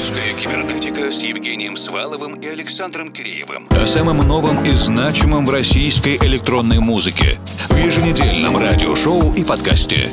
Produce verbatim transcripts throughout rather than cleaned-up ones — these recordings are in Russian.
Русская кибернетика с Евгением Сваловым и Александром Киреевым. О самом новом и значимом в российской электронной музыке в еженедельном радиошоу и подкасте.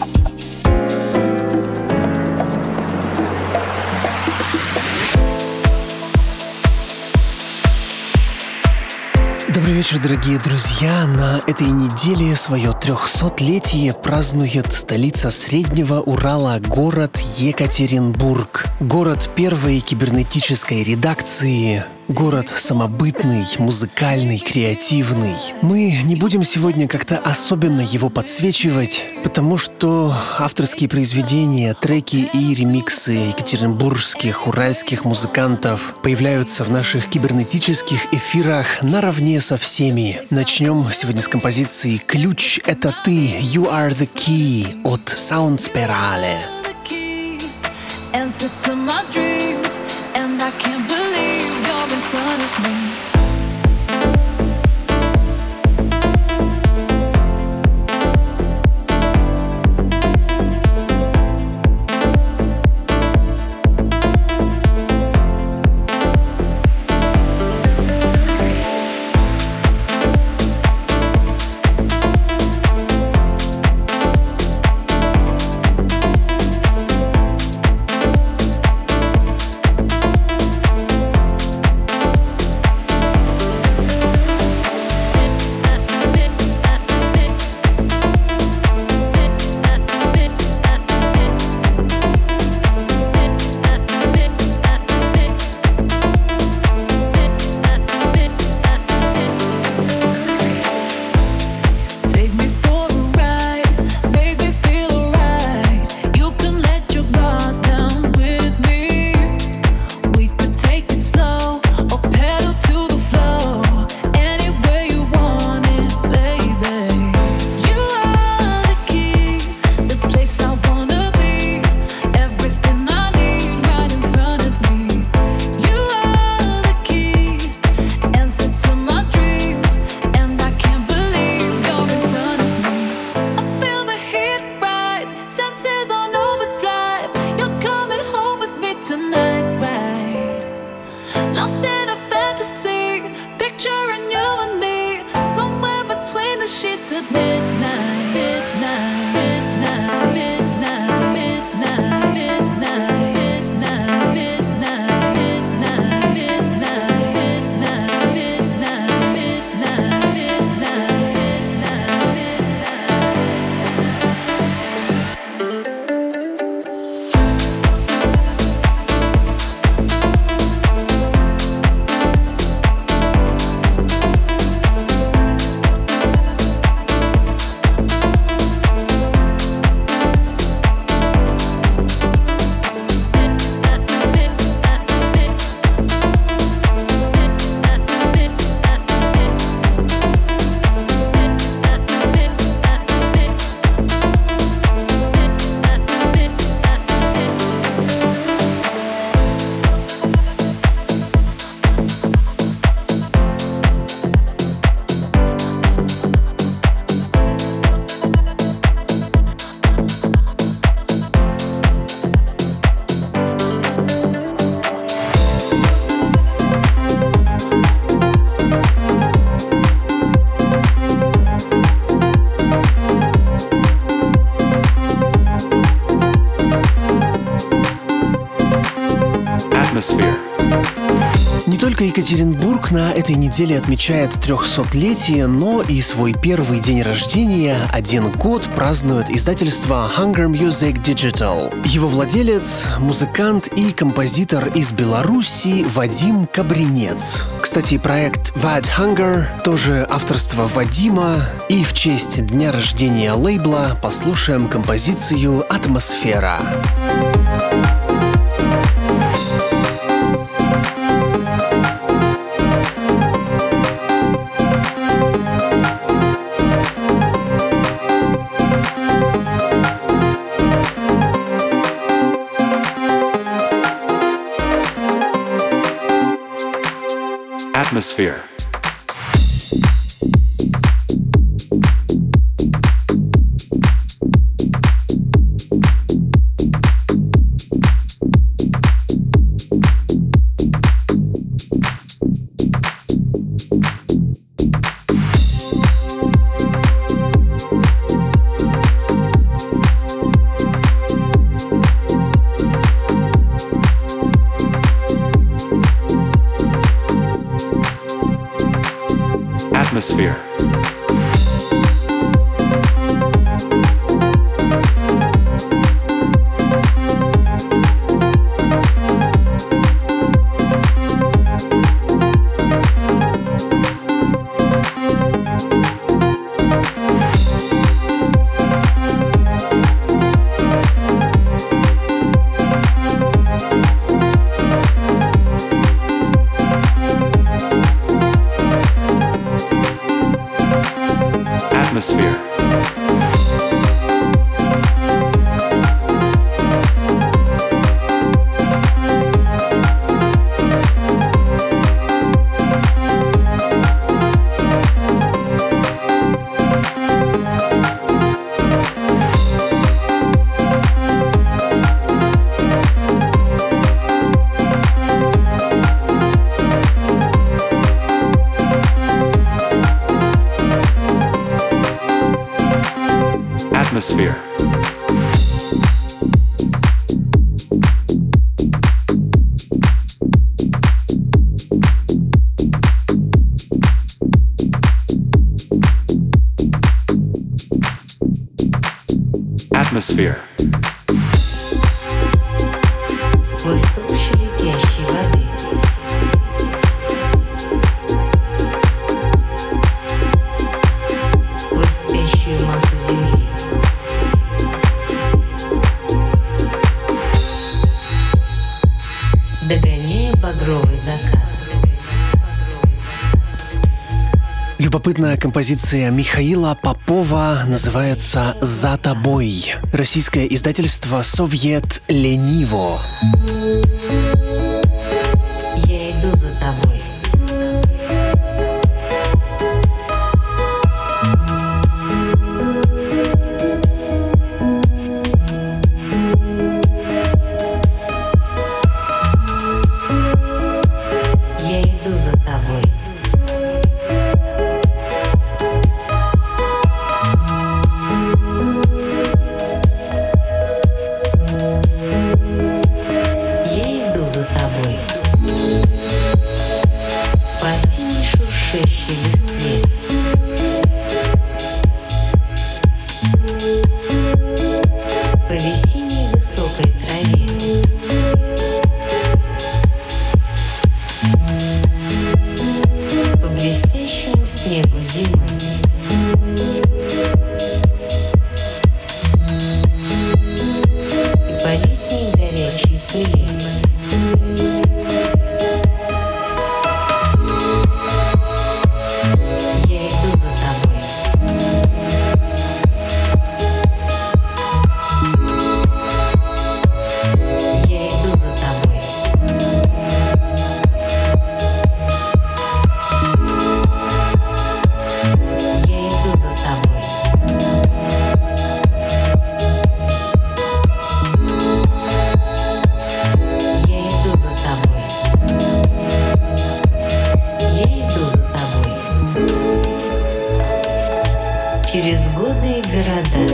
Добрый вечер, дорогие друзья! На этой неделе свое трехсотлетие празднует столица Среднего Урала, город Екатеринбург. Город первой кибернетической редакции. Город самобытный, музыкальный, креативный. Мы не будем сегодня как-то особенно его подсвечивать, потому что авторские произведения, треки и ремиксы екатеринбургских, уральских музыкантов появляются в наших кибернетических эфирах наравне со всеми. Начнем сегодня с композиции «Ключ — это ты», «You are the key» от Soundspirale. Front of me. Не только Екатеринбург на этой неделе отмечает трехсотлетие, но и свой первый день рождения, один год, празднует издательство Hunger Music Digital. Его владелец, музыкант и композитор из Беларуси Вадим Кабринец. Кстати, проект Vad Hunger тоже авторство Вадима, и в честь дня рождения лейбла послушаем композицию «Атмосфера». Atmosphere. Atmosphere. Atmosphere. Atmosphere. Atmosphere. Сквозь толщу летящей воды. Сквозь спящую массу земли. Догоняя багровый закат. Любопытная композиция Михаила Попова называется «За тобой». Российское издательство «Совет Лениво». Я иду за тобой. Я иду за тобой. Я иду за тобой. По осенней шуршащей листве. По весенней высокой траве. По блестящему снегу зимы. И по летней горячей пыли. Я иду за тобой. Я иду за тобой. Я иду за тобой. Я иду за тобой. Я иду за тобой. Через годы и города.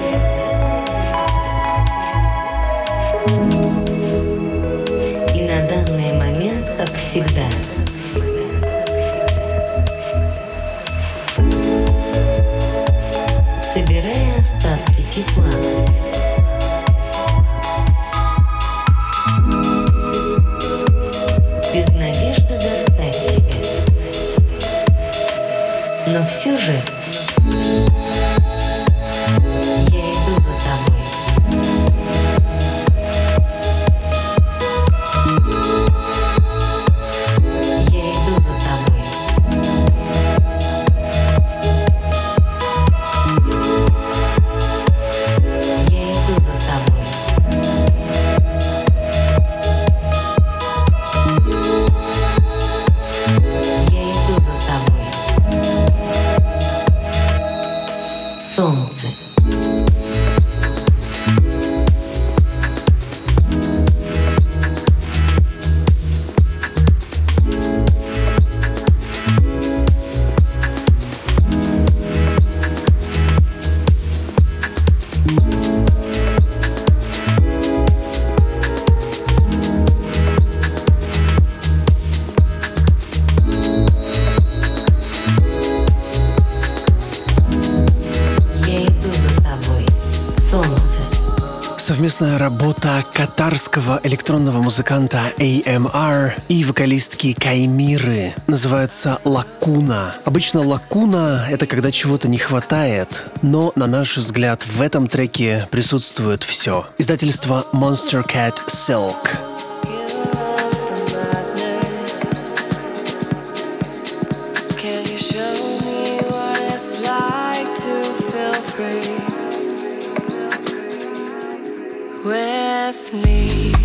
И на данный момент, как всегда. Собирая остатки тепла. Без надежды достать тебя. Но все же я иду за тобой. Я иду за тобой. Я иду за тобой. Я иду за тобой. совместная работа катарского электронного музыканта эй эм ар и вокалистки Каймиры. Называется «Лакуна». Обычно «лакуна» — это когда чего-то не хватает, но, на наш взгляд, в этом треке присутствует все. Издательство Monster Cat Silk. With me,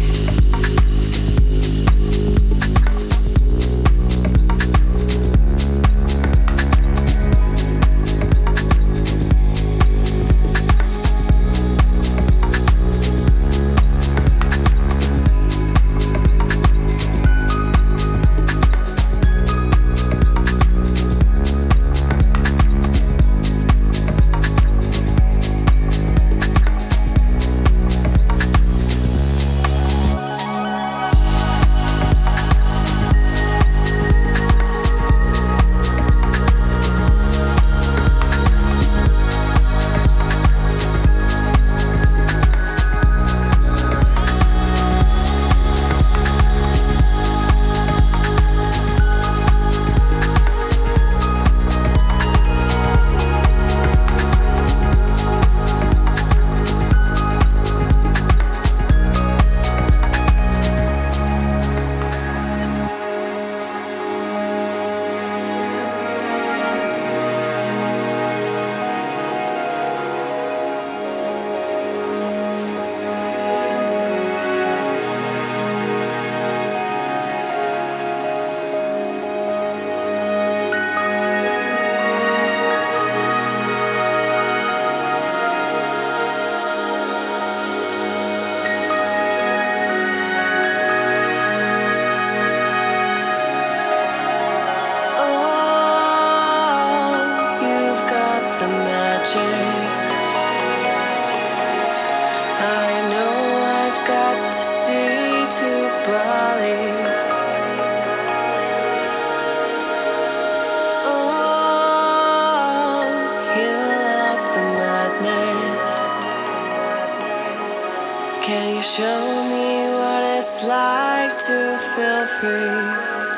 can you show me what it's like to feel free?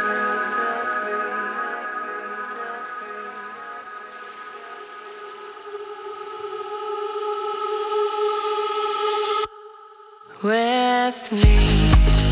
With me.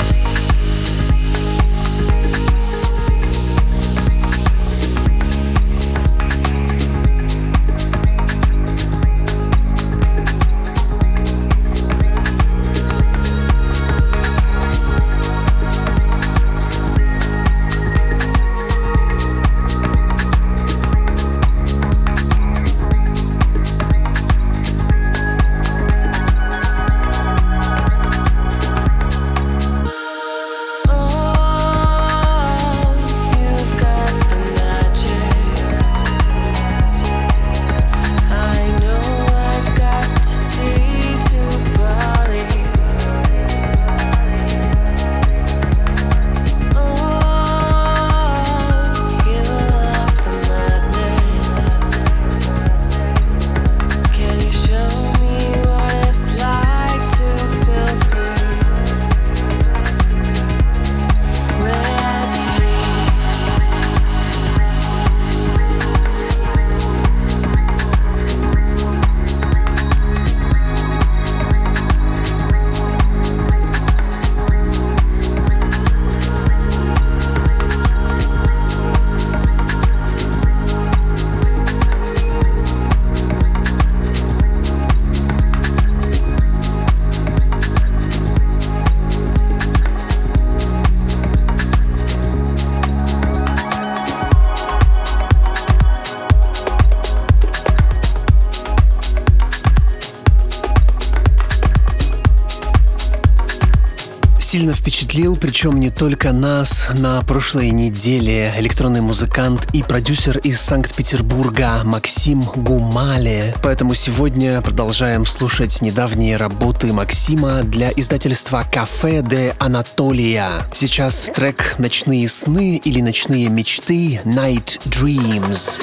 Сильно впечатлил, причем не только нас. На прошлой неделе электронный музыкант и продюсер из Санкт-Петербурга Максим Гумале. Поэтому сегодня продолжаем слушать недавние работы Максима для издательства Кафе де Анатолия. Сейчас трек «Ночные сны» или «Ночные мечты» Night Dreams.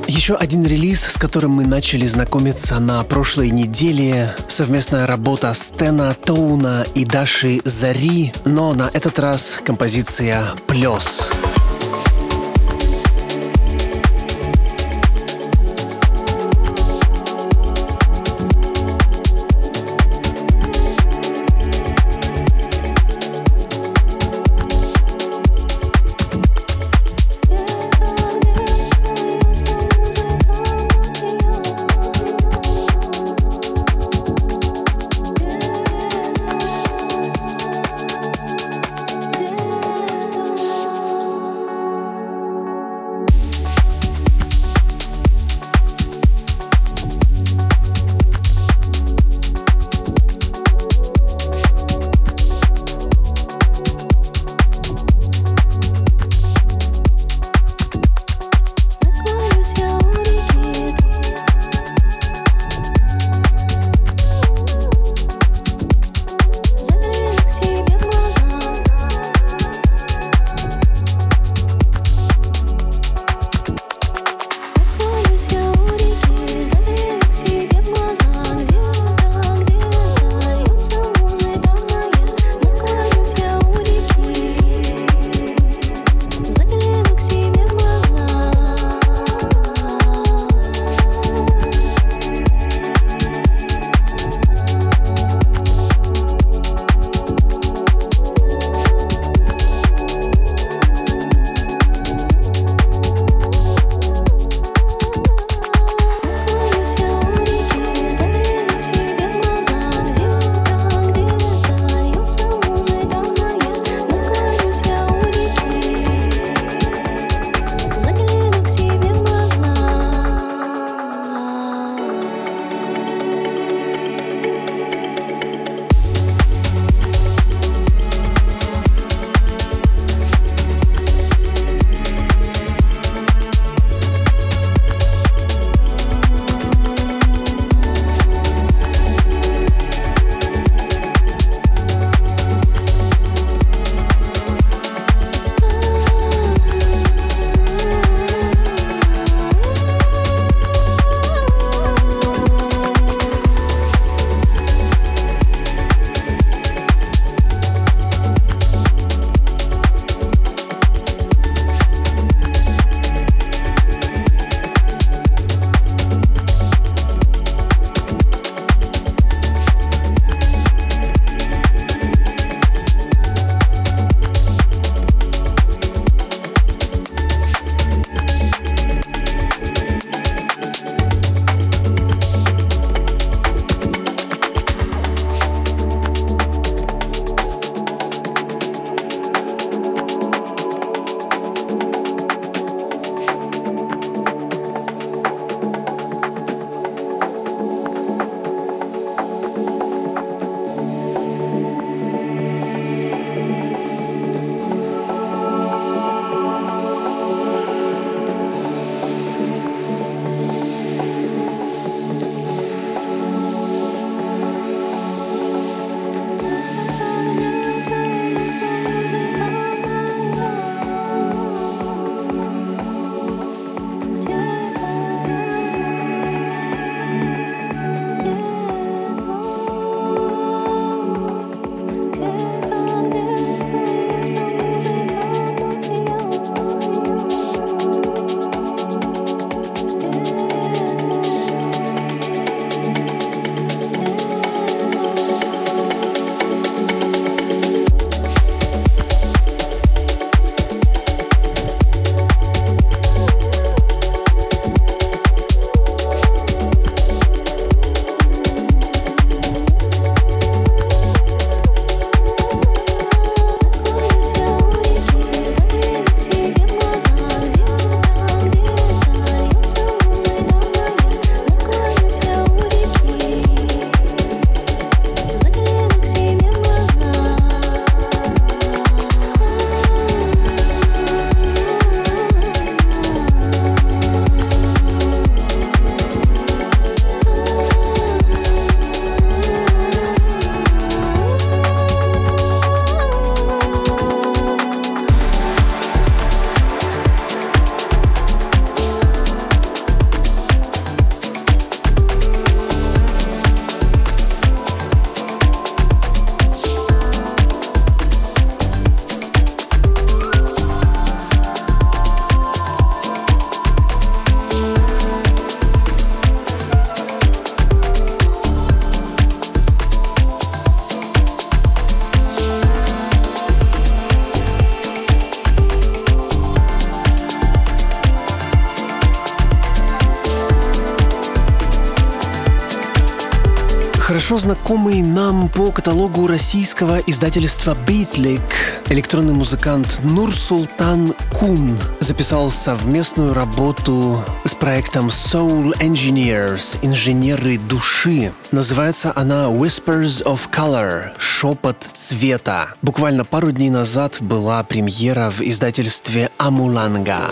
Еще один релиз, с которым мы начали знакомиться на прошлой неделе. Совместная работа Стена Тоуна и Даши Зари, но на этот раз композиция «Плёс». Хорошо знакомый нам по каталогу российского издательства «Битлик» электронный музыкант Нурсултан Кун записал совместную работу с проектом Soul Engineers — инженеры души. Называется она Whispers of Color — шепот цвета. Буквально пару дней назад была премьера в издательстве Амуланга.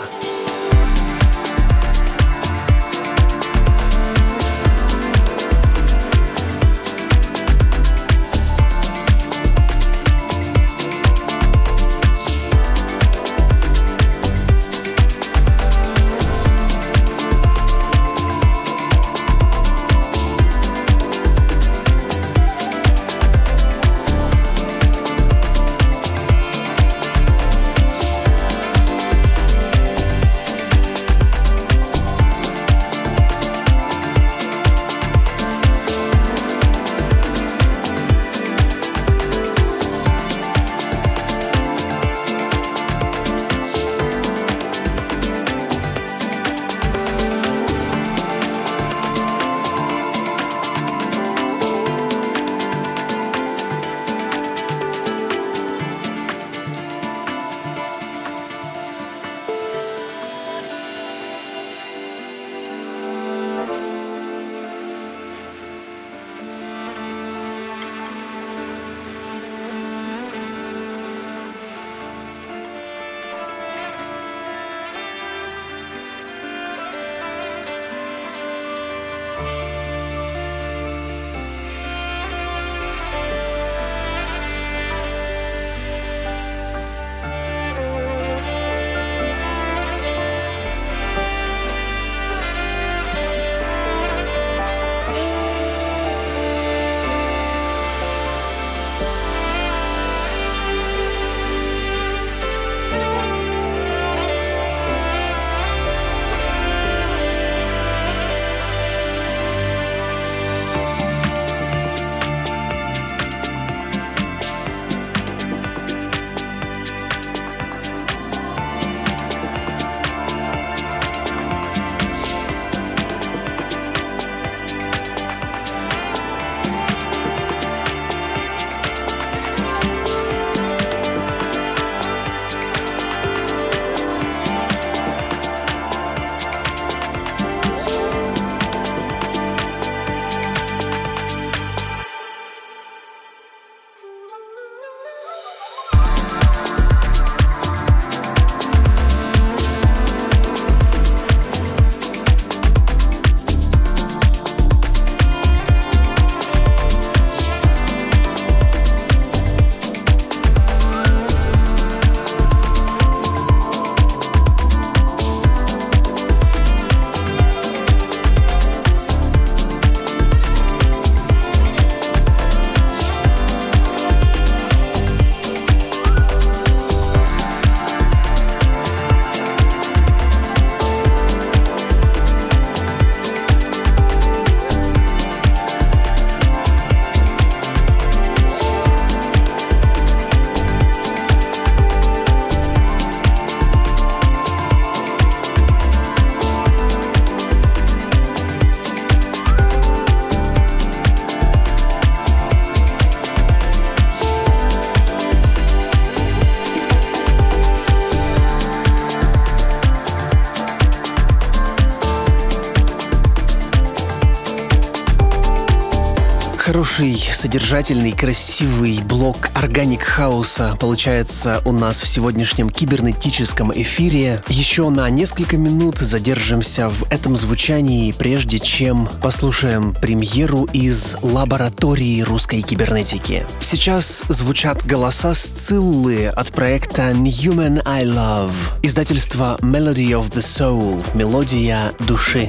Хороший, содержательный, красивый блок органик хауса получается у нас в сегодняшнем кибернетическом эфире. Еще на несколько минут задержимся в этом звучании, прежде чем послушаем премьеру из лаборатории русской кибернетики. Сейчас звучат голоса Сциллы от проекта Newman I Love, издательство Melody of the Soul, мелодия души.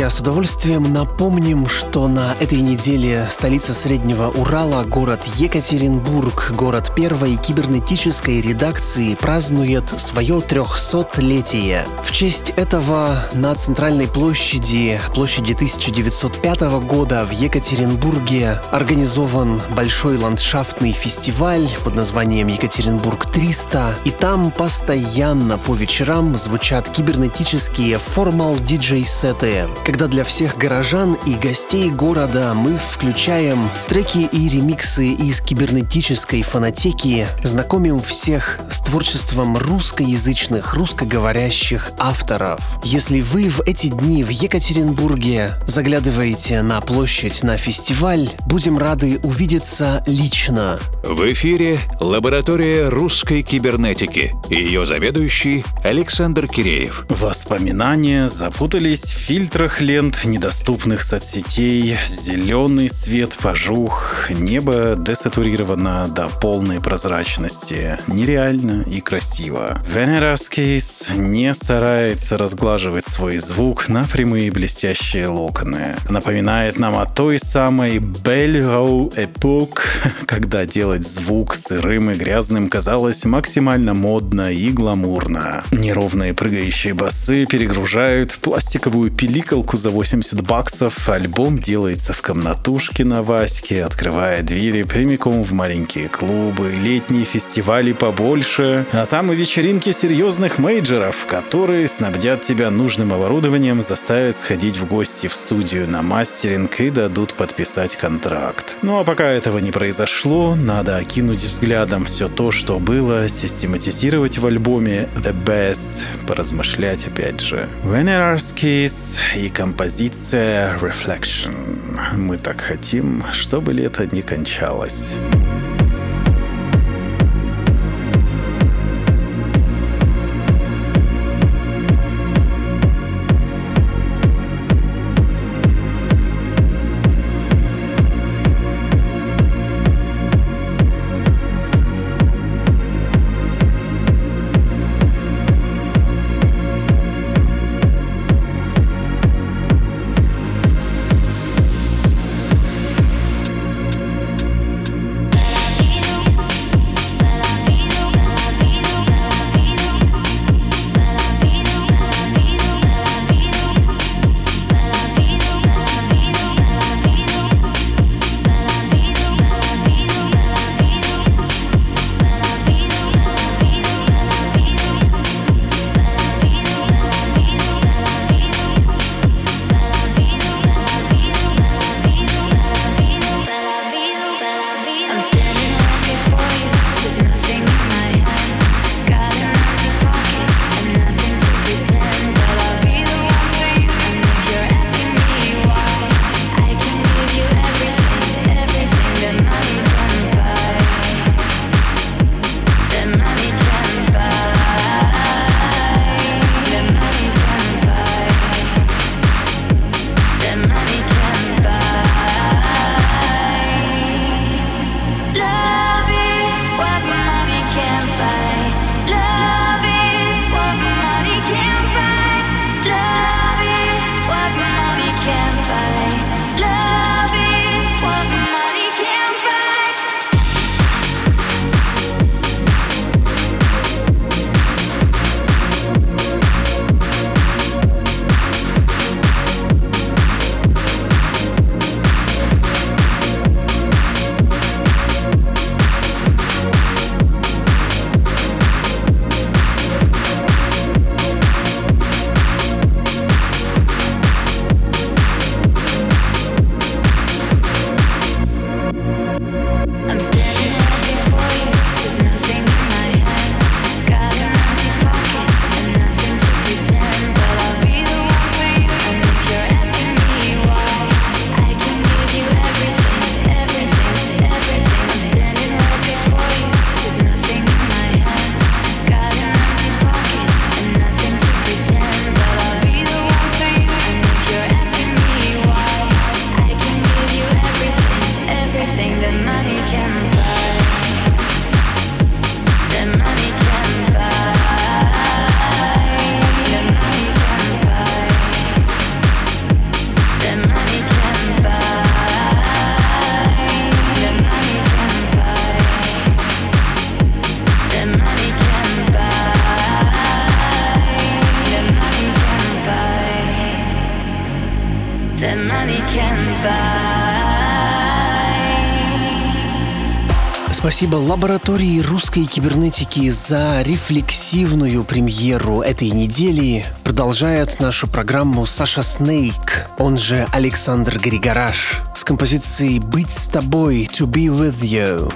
друзья, с удовольствием напомним, что на этой неделе столица Среднего Урала, город Екатеринбург, город первой кибернетической редакции, празднует свое трехсотлетие. В честь этого на центральной площади, площади тысяча девятьсот пятого года в Екатеринбурге организован большой ландшафтный фестиваль под названием «Екатеринбург триста», и там постоянно по вечерам звучат кибернетические формал-диджей-сеты, когда для всех горожан и гостей города мы включаем треки и ремиксы из кибернетической фонотеки, знакомим всех с творчеством русскоязычных, русскоговорящих авторов. Если вы в эти дни в Екатеринбурге заглядываете на площадь, на фестиваль, будем рады увидеться лично. В эфире лаборатория русской кибернетики и ее заведующий Александр Киреев. Воспоминания запутались в фильтрах лент недоступных соцсетей, зеленый свет пожух, небо десатурировано до полной прозрачности. Нереально и красиво. Veneras Case не старается разглаживать свой звук на прямые блестящие локоны. Напоминает нам о той самой Belle Rau Epoque, когда делать звук сырым и грязным казалось максимально модно и гламурно. Неровные прыгающие басы перегружают пластиковую пиликалку за восемьдесят баксов, альбом делается в комнатушке на Ваське, открывая двери прямиком в маленькие клубы, летние фестивали побольше, а там и вечеринки серьезных мейджеров, которые снабдят тебя нужным оборудованием, заставят сходить в гости в студию на мастеринг и дадут подписать контракт. Ну а пока этого не произошло, надо окинуть взглядом все то, что было, систематизировать в альбоме The Best, поразмышлять опять же. Veneras Case и композиция Reflection. Мы так хотим, чтобы лето не кончалось. Спасибо лаборатории русской кибернетики за рефлексивную премьеру этой недели. Продолжает нашу программу Саша Снейк, он же Александр Григораш, с композицией «Быть с тобой», «To be with you».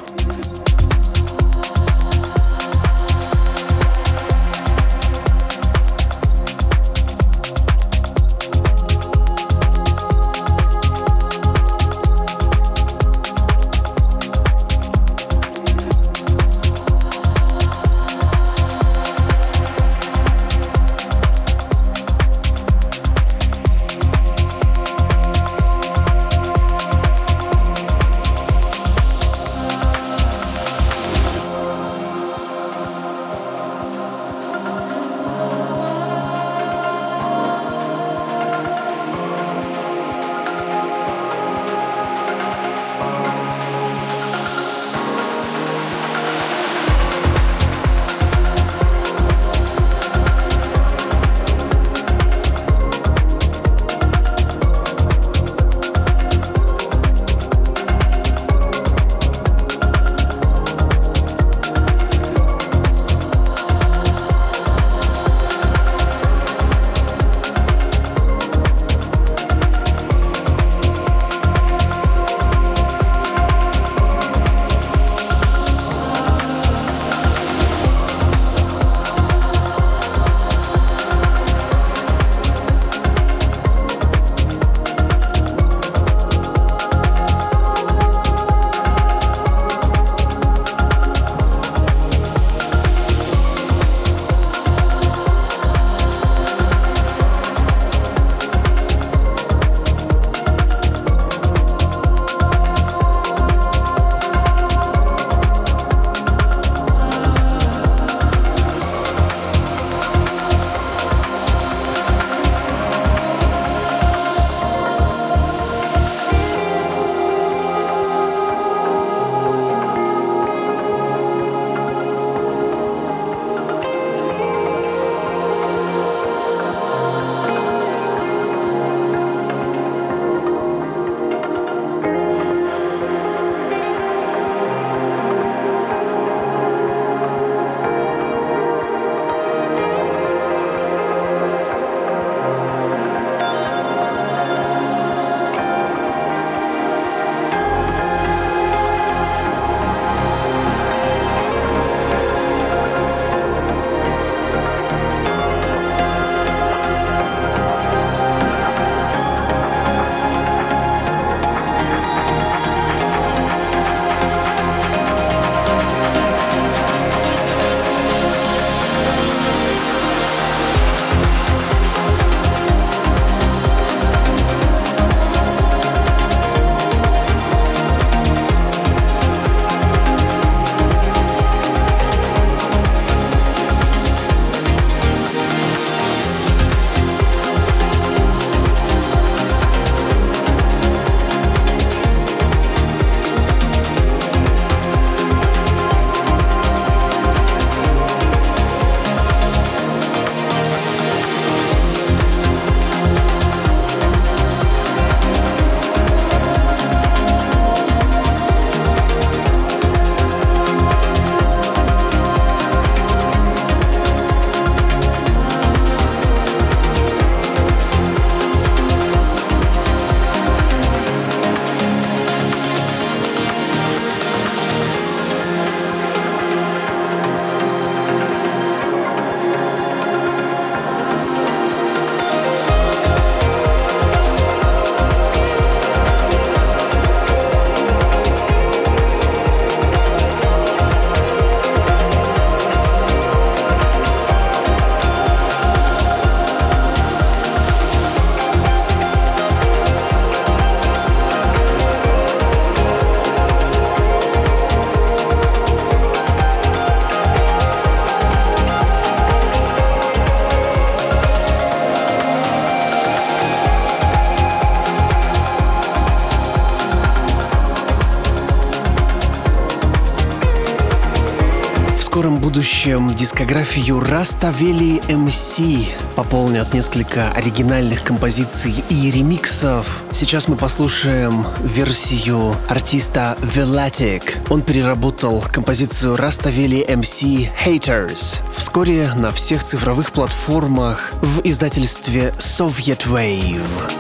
скором будущем дискографию Rastavelli эм си пополнят несколько оригинальных композиций и ремиксов. Сейчас мы послушаем версию артиста Velatic. Он переработал композицию Rastavelli эм си Haters. Вскоре на всех цифровых платформах в издательстве Soviet Wave.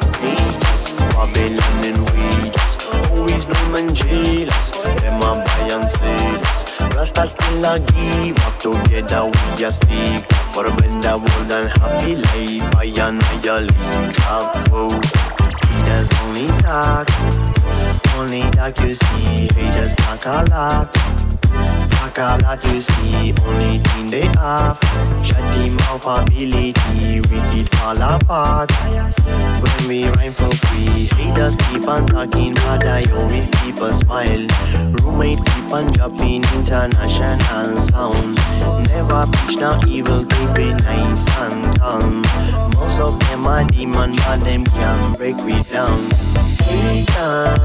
Rasta still a give up together, we just stick for a better world and happy life. I and I link up, whoa. Haters only talk, only talk you see. Haters talk a lot, talk a lot you see. Only thing they have, shut them off ability. Wicked fall apart when we rhyme for free. Haters keep on talking, but I always keep a smile. Roommate keep on dropping international sounds. Never preach no evil, keep it nice and calm. Most of them are demon, but them can break me down. Haters,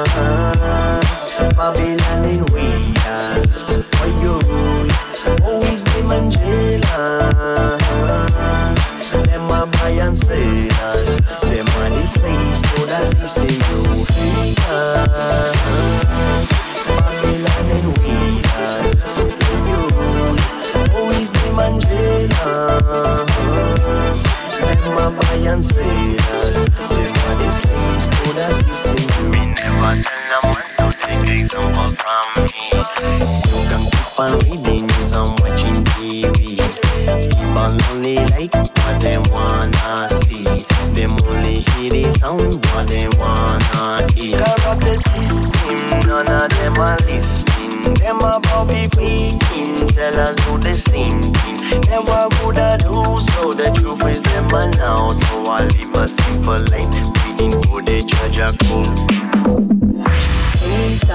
Babylon in waiters. For you, always be man jealous. Them a buy and sell us. Them are the slaves to the system. You haters, Babylon in waiters. For you, always be man jealous. Them a buy and sell us. Them are the slaves to the system. We never tell them what to take example from me. You can keep on reading news and watching T V. Keep on only like what they wanna see. Them only hear the sound what they wanna hear. Corrupted system, none of them are listening. Them about be freaking, tell us do the same thing. Never would I do so, the truth is them are now. So I live a simple life, waiting for the judge a call. Haters,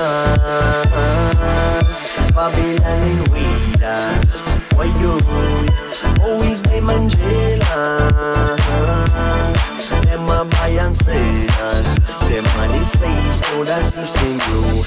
Babylon in waiters. Why you always be man jealous? Them a buy and sell us. Them are the slaves to the system. You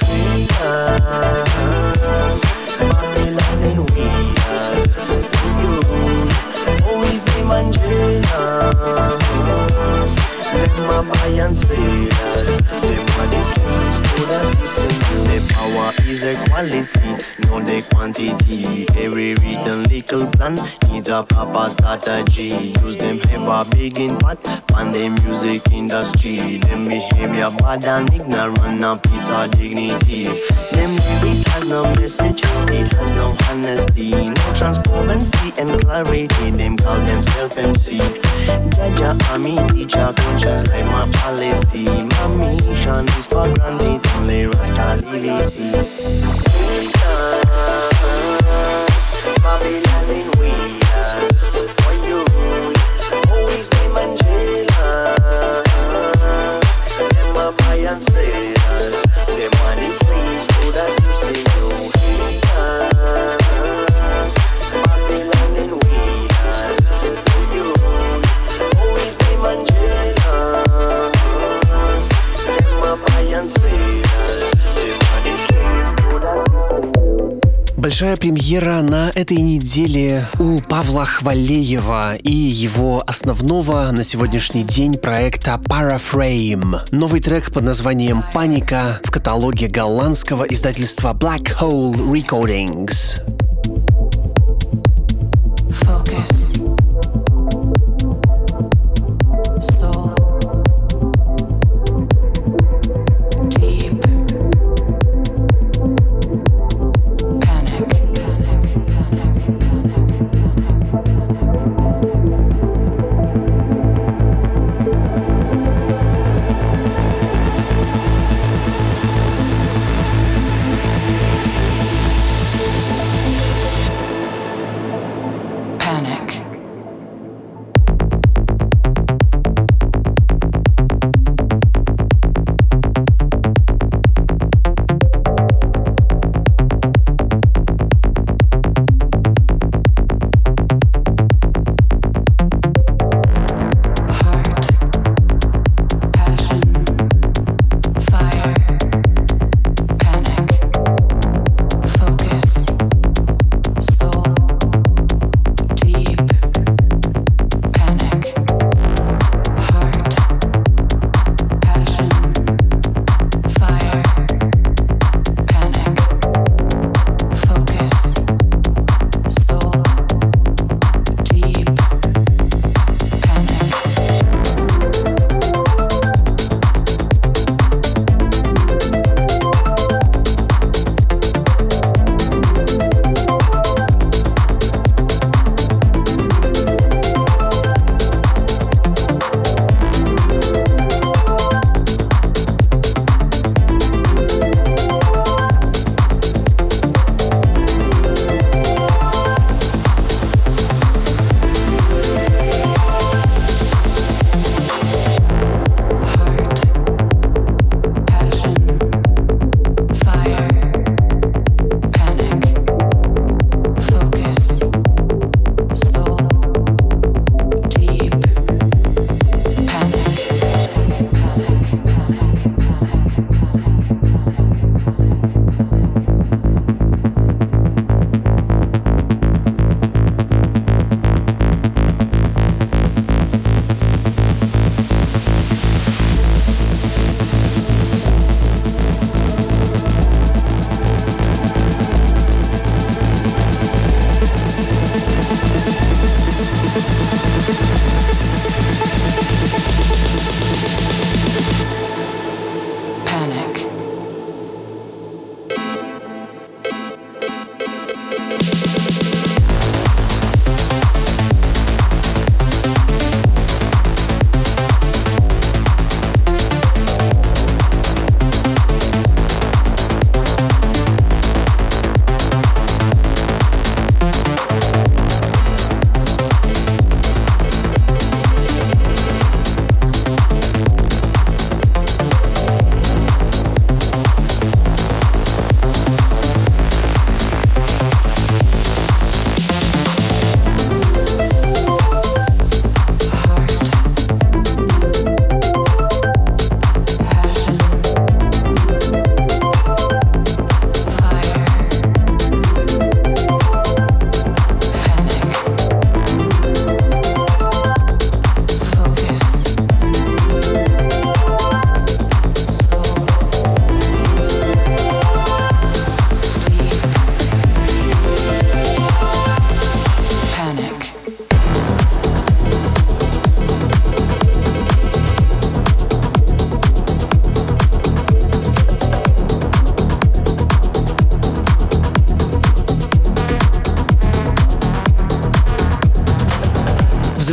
haters, Babylon in waiters. You always be man jealous. Them a buy and sell us. Them are the slaves to the system. The power is equality, not the quantity. Every written legal plan needs a proper strategy. Use them have a big impact on the music industry. Them behavior bad and ignorant, a piece of dignity. Them lyrics has no message, it has no honesty, no transparency and clarity. Them call themselves M C. Jaja army teacher conscious like my policy. My mission is for granted, only Rasta liberty. Haters, Babylon in waiters. For you, always be man jealous. Them a buy and sell us. Them are the slaves to the system. You haters, Babylon in waiters. For you, always be man jealous. Them a buy and sell us. Them are the slaves to the system. Большая премьера на этой неделе у Павла Хвалеева и его основного на сегодняшний день проекта Paraframe. Новый трек под названием «Паника» в каталоге голландского издательства Black Hole Recordings.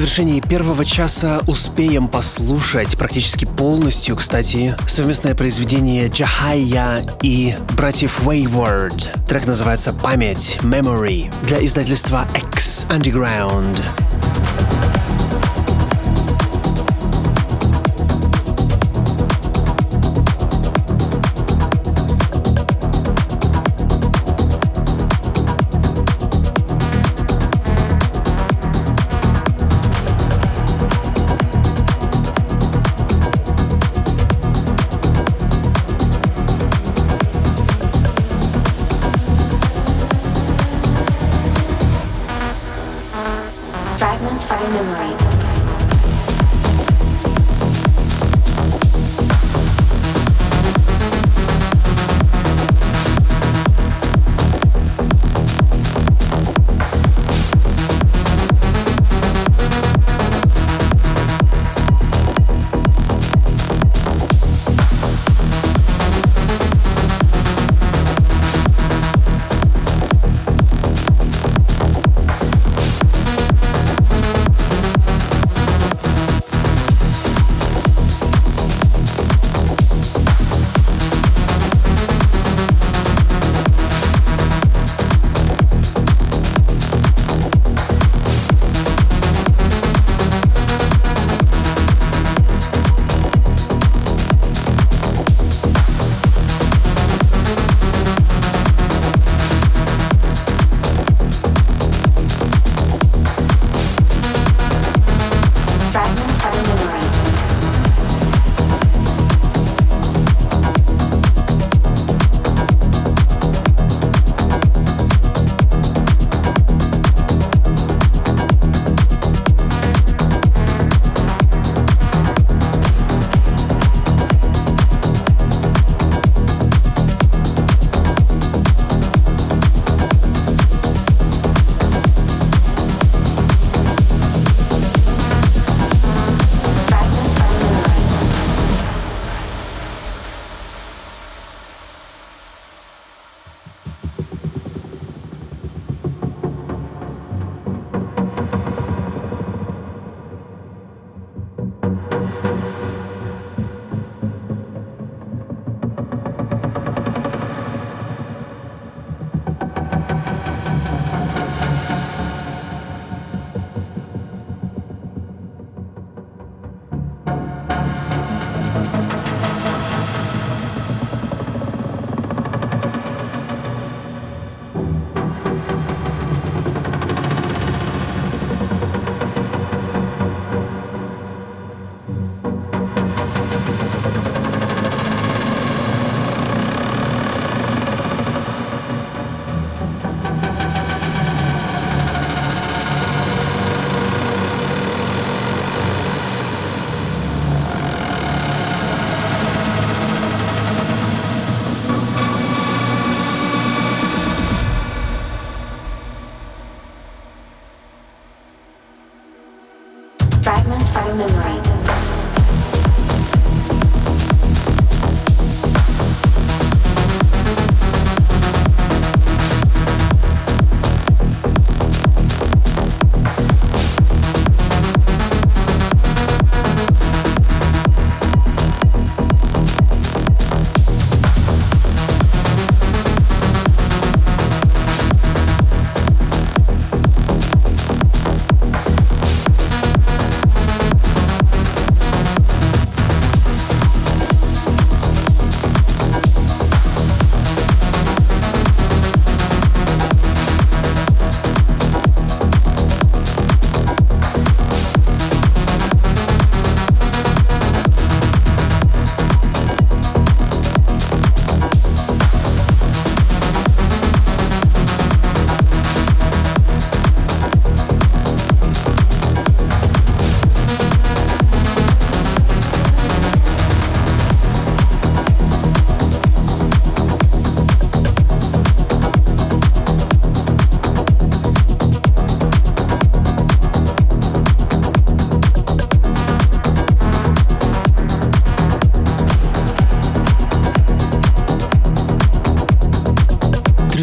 завершении первого часа успеем послушать практически полностью, кстати, совместное произведение Джахайя и братьев Wayward. Трек называется «Память», «Memory» для издательства X Underground. Fragments of a memory.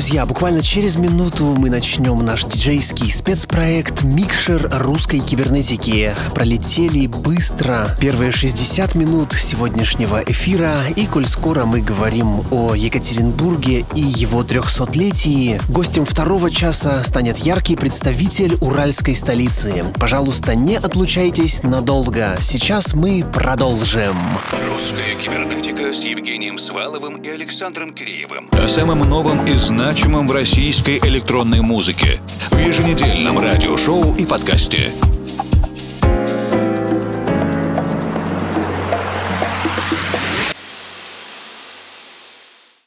Друзья, буквально через минуту мы начнем наш диджейский спецпроект «Микшер русской кибернетики». Пролетели быстро первые шестьдесят минут сегодняшнего эфира, и коль скоро мы говорим о Екатеринбурге и его трехсотлетии, гостем второго часа станет яркий представитель уральской столицы. Пожалуйста, не отлучайтесь надолго. Сейчас мы продолжим. Русская кибернетика с Евгением Сваловым и Александром Киреевым. О самом новом и значимом в российской электронной музыке в еженедельном радиошоу и подкасте.